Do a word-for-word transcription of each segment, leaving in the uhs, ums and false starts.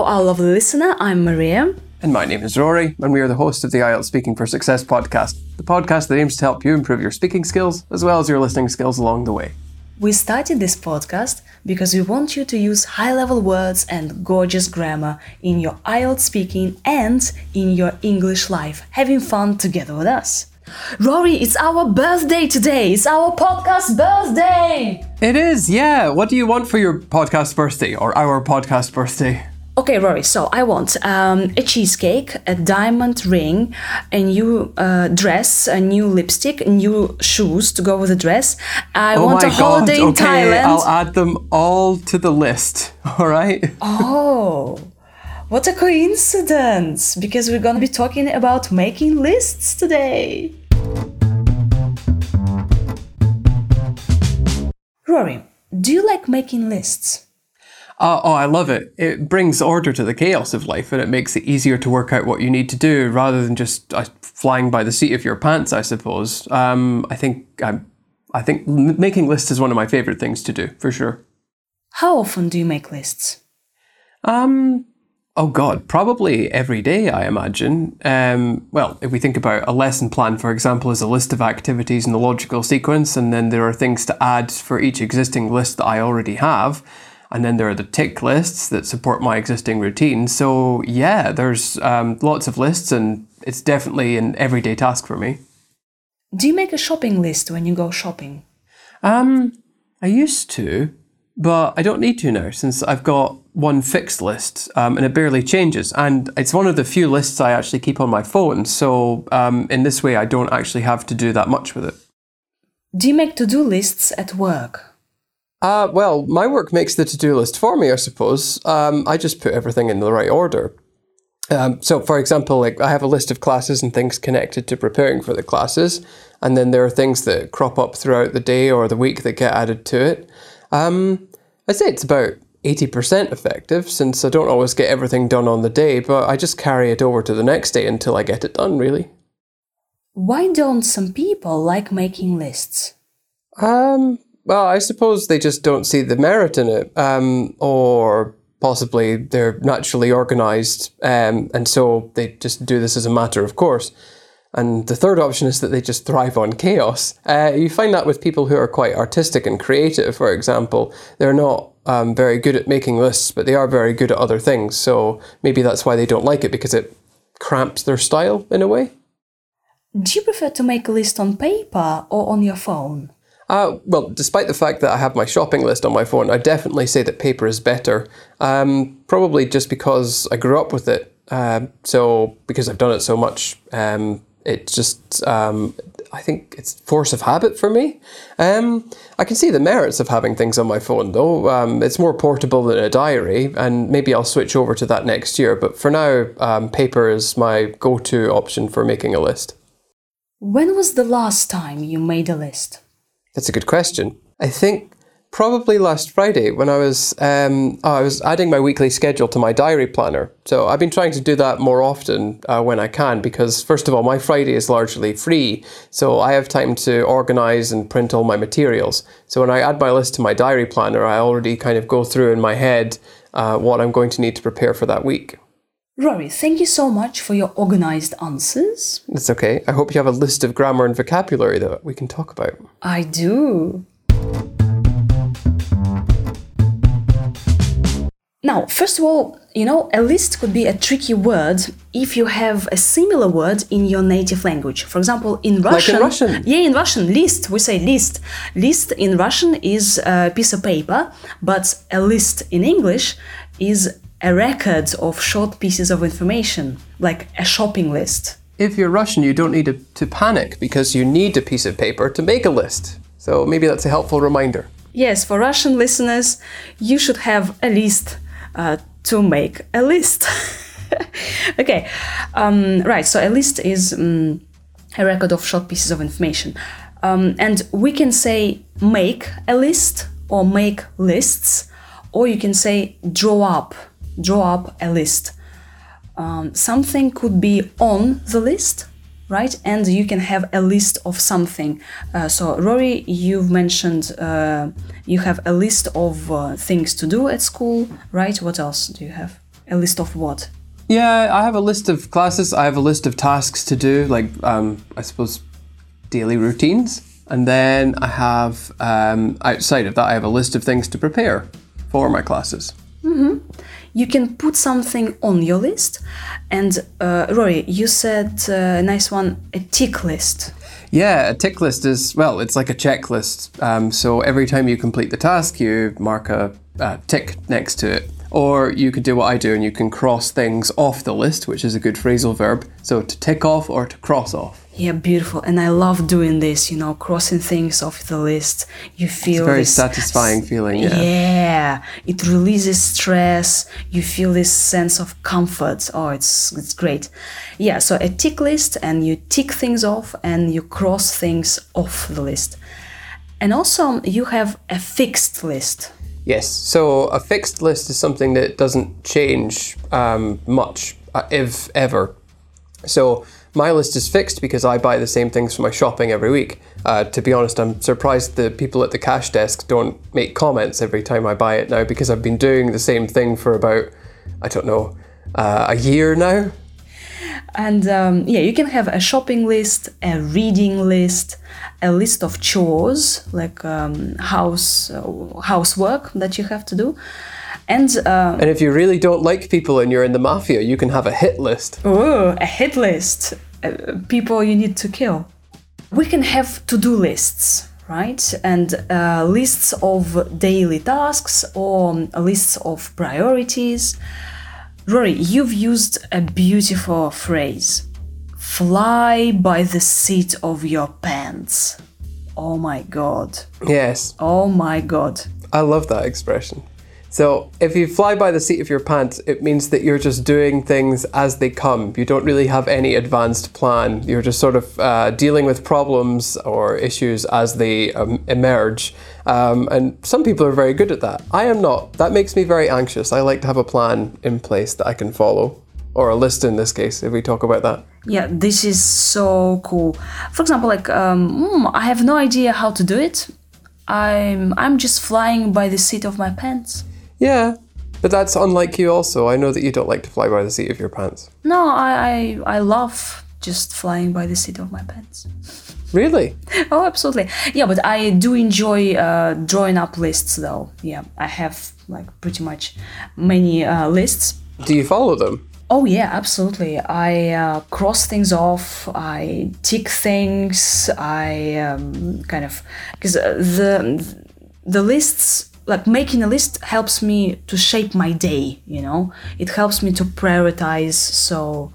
Hello, our lovely listener. I'm Maria. And my name is Rory, and we are the host of the I E L T S Speaking for Success podcast, the podcast that aims to help you improve your speaking skills as well as your listening skills along the way. We started this podcast because we want you to use high-level words and gorgeous grammar in your I E L T S speaking and in your English life, having fun together with us. Rory, it's our birthday today. It's our podcast birthday. It is, yeah. What do you want for your podcast birthday or our podcast birthday? Okay, Rory, so I want um, a cheesecake, a diamond ring, a new uh, dress, a new lipstick, new shoes to go with the dress. I oh want my a holiday God. in okay, Thailand. I'll add them all to the list, all right? Oh, what a coincidence, because we're going to be talking about making lists today. Rory, do you like making lists? Uh, oh, I love it. It brings order to the chaos of life and it makes it easier to work out what you need to do rather than just uh, flying by the seat of your pants, I suppose. Um, I think I'm, I think making lists is one of my favorite things to do, for sure. How often do you make lists? Um, oh God, probably every day, I imagine. Um, well, if we think about a lesson plan, for example, is a list of activities in a logical sequence, and then there are things to add for each existing list that I already have. And then there are the tick lists that support my existing routine. So yeah, there's um, lots of lists and it's definitely an everyday task for me. Do you make a shopping list when you go shopping? Um, I used to, but I don't need to now since I've got one fixed list um, and it barely changes. And it's one of the few lists I actually keep on my phone. So um, in this way, I don't actually have to do that much with it. Do you make to-do lists at work? Uh, well, my work makes the to-do list for me, I suppose. Um, I just put everything in the right order. Um, so, for example, like I have a list of classes and things connected to preparing for the classes, and then there are things that crop up throughout the day or the week that get added to it. Um, I'd say it's about eighty percent effective, since I don't always get everything done on the day, but I just carry it over to the next day until I get it done, really. Why don't some people like making lists? Um... Well, I suppose they just don't see the merit in it, um, or possibly they're naturally organised, um, and so they just do this as a matter of course. And the third option is that they just thrive on chaos. Uh, you find that with people who are quite artistic and creative, for example. They're not um, very good at making lists, but they are very good at other things. So maybe that's why they don't like it, because it cramps their style in a way. Do you prefer to make a list on paper or on your phone? Uh, well, despite the fact that I have my shopping list on my phone, I definitely say that paper is better. Um, probably just because I grew up with it. Uh, so because I've done it so much, um, it just, um, I think it's force of habit for me. Um, I can see the merits of having things on my phone though. Um, it's more portable than a diary, and maybe I'll switch over to that next year. But for now, um, paper is my go-to option for making a list. When was the last time you made a list? That's a good question. I think probably last Friday when I was um, oh, I was adding my weekly schedule to my diary planner. So I've been trying to do that more often uh, when I can, because first of all, my Friday is largely free. So I have time to organise and print all my materials. So when I add my list to my diary planner, I already kind of go through in my head uh, what I'm going to need to prepare for that week. Rory, thank you so much for your organised answers. It's okay. I hope you have a list of grammar and vocabulary that we can talk about. I do. Now, first of all, you know, a list could be a tricky word if you have a similar word in your native language. For example, in Russian... Like in Russian? Yeah, in Russian, list, we say list. List in Russian is a piece of paper, but a list in English is a record of short pieces of information, like a shopping list. If you're Russian, you don't need to, to panic because you need a piece of paper to make a list. So maybe that's a helpful reminder. Yes, for Russian listeners, you should have a list uh, to make a list. Okay, um, right, so a list is um, a record of short pieces of information. Um, and we can say make a list or make lists, or you can say draw up. Draw up a list. Um, something could be on the list, right? And you can have a list of something. Uh, so, Rory, you've mentioned uh, you have a list of uh, things to do at school, right? What else do you have? A list of what? Yeah, I have a list of classes. I have a list of tasks to do, like, um, I suppose, daily routines. And then I have, um, outside of that, I have a list of things to prepare for my classes. Mm-hmm. You can put something on your list. And uh, Rory, you said uh, a nice one, a tick list. Yeah, a tick list is, well, it's like a checklist. Um, so every time you complete the task, you mark a, a tick next to it. Or you could do what I do and you can cross things off the list, which is a good phrasal verb. So to tick off or to cross off. Yeah, beautiful. And I love doing this, you know, crossing things off the list. You feel It's a very this satisfying feeling, yeah. Yeah, it releases stress. You feel this sense of comfort. Oh, it's it's great. Yeah, so a tick list, and you tick things off and you cross things off the list. And also you have a fixed list. Yes, so a fixed list is something that doesn't change um, much, uh, if ever. So my list is fixed because I buy the same things for my shopping every week. Uh, to be honest, I'm surprised the people at the cash desk don't make comments every time I buy it now, because I've been doing the same thing for about, I don't know, uh, a year now. And um, yeah, you can have a shopping list, a reading list, a list of chores, like um, house uh, housework that you have to do. And, uh, and if you really don't like people and you're in the mafia, you can have a hit list. Oh, a hit list. Uh, people you need to kill. We can have to-do lists, right? And uh, lists of daily tasks or lists of priorities. Rory, you've used a beautiful phrase. Fly by the seat of your pants. Oh my God. Yes. Oh my God. I love that expression. So if you fly by the seat of your pants, it means that you're just doing things as they come. You don't really have any advanced plan. You're just sort of uh, dealing with problems or issues as they um, emerge. Um, and some people are very good at that. I am not. That makes me very anxious. I like to have a plan in place that I can follow. Or a list in this case, if we talk about that. Yeah, this is so cool. For example, like, um, mm, I have no idea how to do it. I'm, I'm just flying by the seat of my pants. Yeah, but that's unlike you also. I know that you don't like to fly by the seat of your pants. No, I, I, I love just flying by the seat of my pants. Really? Oh, absolutely. Yeah, but I do enjoy uh, drawing up lists, though. Yeah, I have like pretty much many uh, lists. Do you follow them? Oh yeah, absolutely. I uh, cross things off. I tick things. I um, kind of because the the lists. Like making a list helps me to shape my day, you know? It helps me to prioritize, so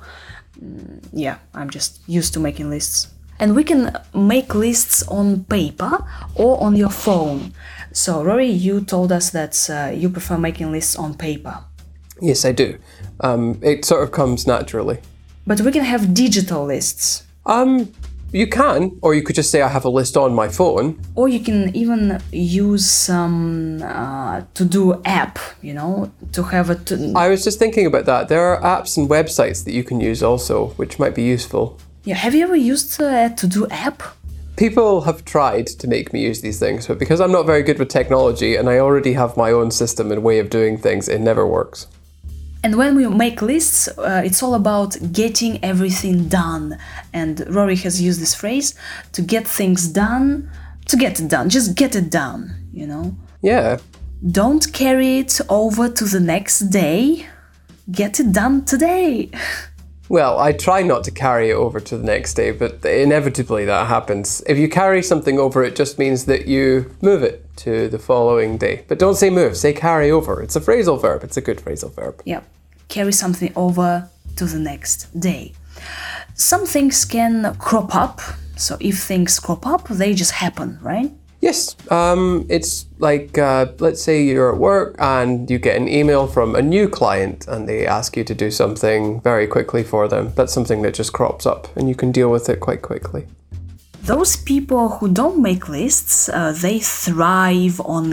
yeah, I'm just used to making lists. And we can make lists on paper or on your phone. So Rory, you told us that uh, you prefer making lists on paper. Yes, I do. Um, it sort of comes naturally. But we can have digital lists. Um... You can, or you could just say I have a list on my phone. Or you can even use some uh, to-do app, you know, to have a... To- I was just thinking about that. There are apps and websites that you can use also, which might be useful. Yeah, have you ever used a to-do app? People have tried to make me use these things, but because I'm not very good with technology and I already have my own system and way of doing things, it never works. And when we make lists, uh, it's all about getting everything done. And Rory has used this phrase, to get things done, to get it done, just get it done, you know? Yeah. Don't carry it over to the next day, get it done today. Well, I try not to carry it over to the next day, but inevitably that happens. If you carry something over, it just means that you move it to the following day. But don't say move, say carry over. It's a phrasal verb. It's a good phrasal verb. Yeah, carry something over to the next day. Some things can crop up. So if things crop up, they just happen, right? Yes, um, it's like, uh, let's say you're at work and you get an email from a new client and they ask you to do something very quickly for them. That's something that just crops up and you can deal with it quite quickly. Those people who don't make lists, uh, they thrive on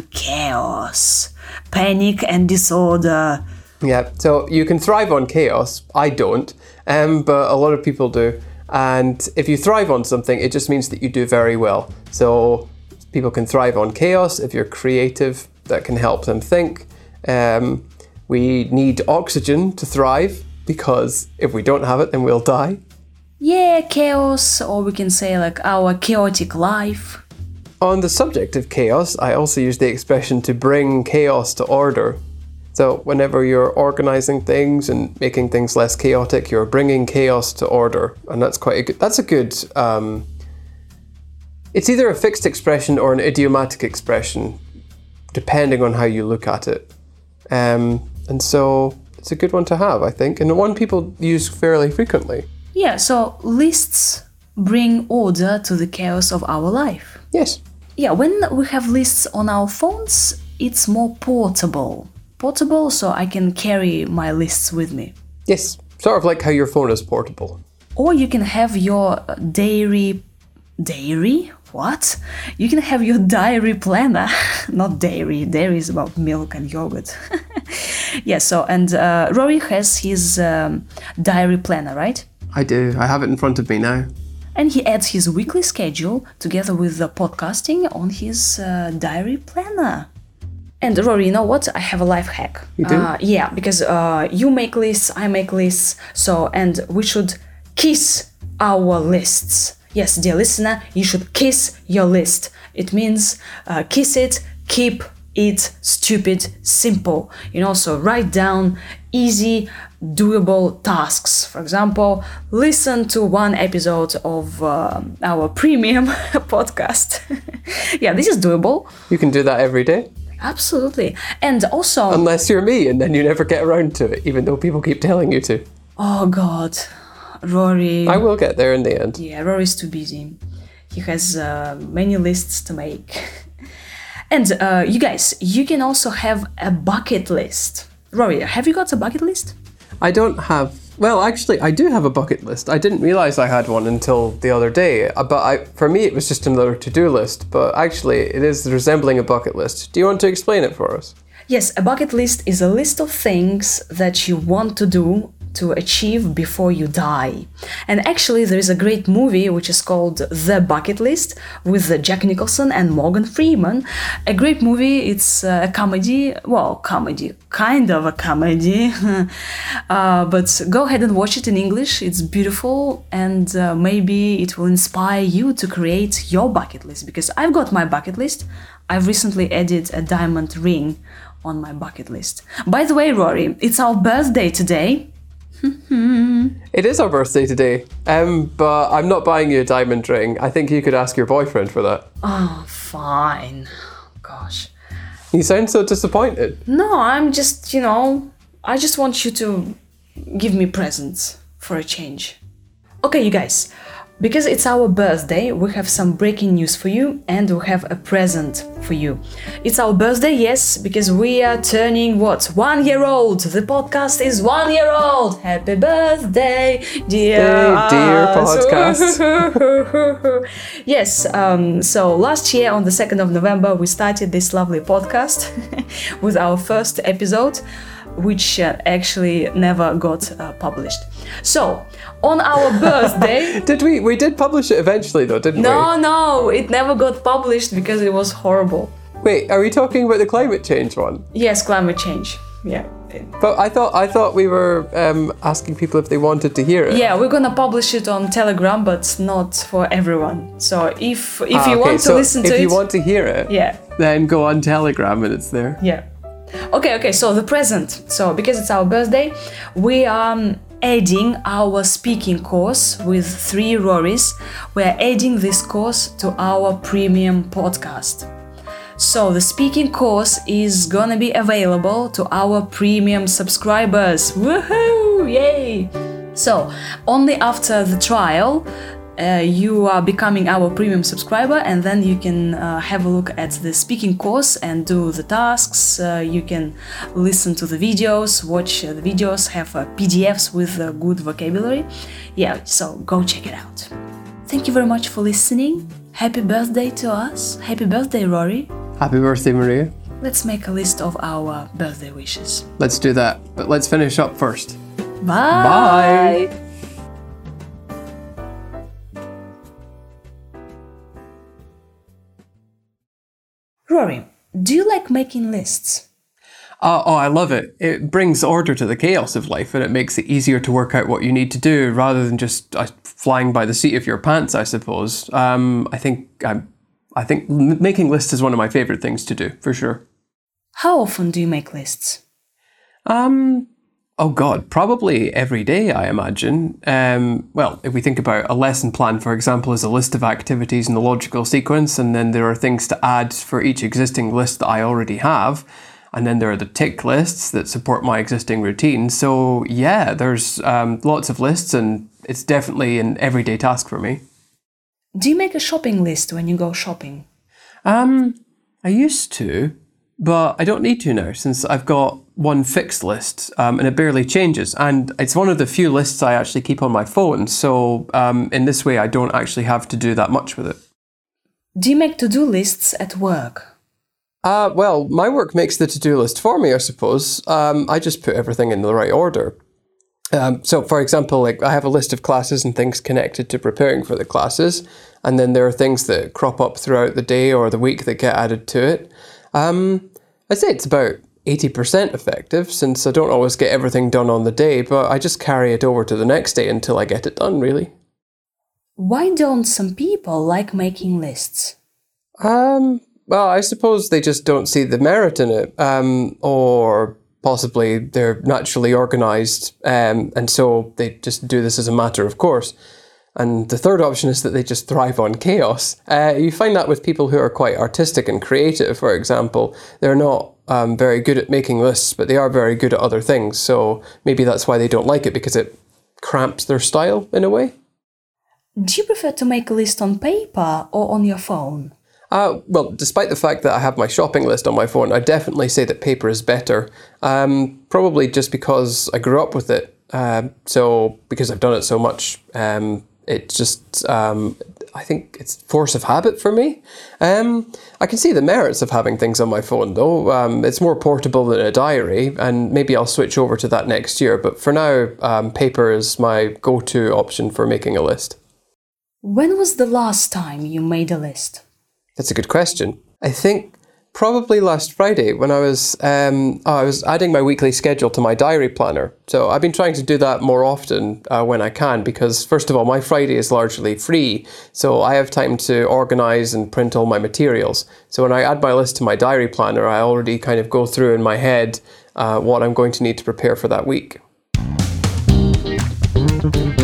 chaos, panic and disorder. Yeah, so you can thrive on chaos. I don't, um, but a lot of people do. And if you thrive on something, it just means that you do very well. So people can thrive on chaos. If you're creative, that can help them think. Um, We need oxygen to thrive, because if we don't have it, then we'll die. Yeah, chaos, or we can say like our chaotic life. On the subject of chaos, I also use the expression to bring chaos to order. So whenever you're organizing things and making things less chaotic, you're bringing chaos to order. And that's quite a good, that's a good, um, it's either a fixed expression or an idiomatic expression, depending on how you look at it. Um, and so it's a good one to have, I think, and one people use fairly frequently. Yeah, so lists bring order to the chaos of our life. Yes. Yeah, when we have lists on our phones, it's more portable. Portable, so I can carry my lists with me. Yes, sort of like how your phone is portable. Or you can have your dairy... Dairy? What? You can have your diary planner. Not dairy. Dairy is about milk and yogurt. Yeah, so, and uh, Rory has his um, diary planner, right? I do. I have it in front of me now. And he adds his weekly schedule together with the podcasting on his uh, diary planner. And Rory, you know what? I have a life hack. You do? Uh, yeah, because uh, you make lists, I make lists. So, and we should kiss our lists. Yes, dear listener, you should kiss your list. It means uh, kiss it, keep it stupid, simple. You know, so write down easy, doable tasks. For example, listen to one episode of uh, our premium podcast. Yeah, this is doable. You can do that every day. Absolutely. And also... Unless you're me, and then you never get around to it, even though people keep telling you to. Oh, God. Rory... I will get there in the end. Yeah, Rory's too busy. He has uh, many lists to make. And uh, you guys, you can also have a bucket list. Rory, have you got a bucket list? I don't have... Well, actually, I do have a bucket list. I didn't realize I had one until the other day. Uh, But I, for me, it was just another to-do list. But actually, it is resembling a bucket list. Do you want to explain it for us? Yes, a bucket list is a list of things that you want to do to achieve before you die. And actually there is a great movie which is called The Bucket List with Jack Nicholson and Morgan Freeman. A great movie, it's a comedy, well, comedy, kind of a comedy, uh, but go ahead and watch it in English, it's beautiful, and uh, maybe it will inspire you to create your bucket list, because I've got my bucket list. I've recently added a diamond ring on my bucket list. By the way, Rory, it's our birthday today. It is our birthday today, um, but I'm not buying you a diamond ring. I think you could ask your boyfriend for that. Oh, fine. Gosh. You sound so disappointed. No, I'm just, you know, I just want you to give me presents for a change. Okay, you guys, because it's our birthday, we have some breaking news for you and we have a present for you. It's our birthday, yes, because we are turning what? One year old! The podcast is one year old! Happy birthday, dear, Hey, dear us. podcast. Yes, um, so last year on the second of November we started this lovely podcast with our first episode, which uh, actually never got uh, published. So, on our birthday... Did we? We did publish it eventually though, didn't No, we? no, it never got published because it was horrible. Wait, are we talking about the climate change one? Yes, climate change. Yeah. But I thought I thought we were um, asking people if they wanted to hear it. Yeah, we're gonna publish it on Telegram, but not for everyone. So if if Ah, you okay, want to so listen to if it... you want to hear it, Yeah. then go on Telegram and it's there. Yeah. Okay, okay, so the present. So, because it's our birthday, we are um, adding our speaking course with three Rorys. We're adding this course to our premium podcast. So, the speaking course is gonna be available to our premium subscribers. Woohoo! Yay! So, only after the trial, Uh, you are becoming our premium subscriber, and then you can uh, have a look at the speaking course and do the tasks. Uh, you can listen to the videos, watch uh, the videos, have uh, P D Fs with uh, good vocabulary. Yeah, so go check it out. Thank you very much for listening. Happy birthday to us. Happy birthday, Rory. Happy birthday, Maria. Let's make a list of our birthday wishes. Let's do that, but let's finish up first. Bye! Bye. Rory, do you like making lists? Uh, oh, I love it. It brings order to the chaos of life, and it makes it easier to work out what you need to do rather than just uh, flying by the seat of your pants, I suppose. Um, I think I'm, I think making lists is one of my favorite things to do, for sure. How often do you make lists? Um, oh God, probably every day, I imagine. Um, well, if we think about a lesson plan, for example, is a list of activities in a logical sequence, and then there are things to add for each existing list that I already have. And then there are the tick lists that support my existing routine. So yeah, there's um, lots of lists, and it's definitely an everyday task for me. Do you make a shopping list when you go shopping? Um, I used to, but I don't need to now since I've got one fixed list, um, and it barely changes. And it's one of the few lists I actually keep on my phone. So um, in this way, I don't actually have to do that much with it. Do you make to-do lists at work? Uh, well, my work makes the to-do list for me, I suppose. Um, I just put everything in the right order. Um, so, for example, like I have a list of classes and things connected to preparing for the classes, and then there are things that crop up throughout the day or the week that get added to it. Um, I'd say it's about eighty percent effective, since I don't always get everything done on the day, but I just carry it over to the next day until I get it done, really. Why don't some people like making lists? Um... Well, I suppose they just don't see the merit in it, um, or possibly they're naturally organised, um, and so they just do this as a matter of course. And the third option is that they just thrive on chaos. Uh, you find that with people who are quite artistic and creative, for example. They're not um, very good at making lists, but they are very good at other things. So maybe that's why they don't like it, because it cramps their style in a way. Do you prefer to make a list on paper or on your phone? Uh, well, despite the fact that I have my shopping list on my phone, I definitely say that paper is better. Um, probably just because I grew up with it. Uh, so because I've done it so much, um, it just, um, I think it's force of habit for me. Um, I can see the merits of having things on my phone though. Um, it's more portable than a diary, and maybe I'll switch over to that next year. But for now, um, paper is my go-to option for making a list. When was the last time you made a list? That's a good question. I think probably last Friday when I was um, oh, I was adding my weekly schedule to my diary planner. So I've been trying to do that more often uh, when I can, because first of all, my Friday is largely free. So I have time to organise and print all my materials. So when I add my list to my diary planner, I already kind of go through in my head uh, what I'm going to need to prepare for that week.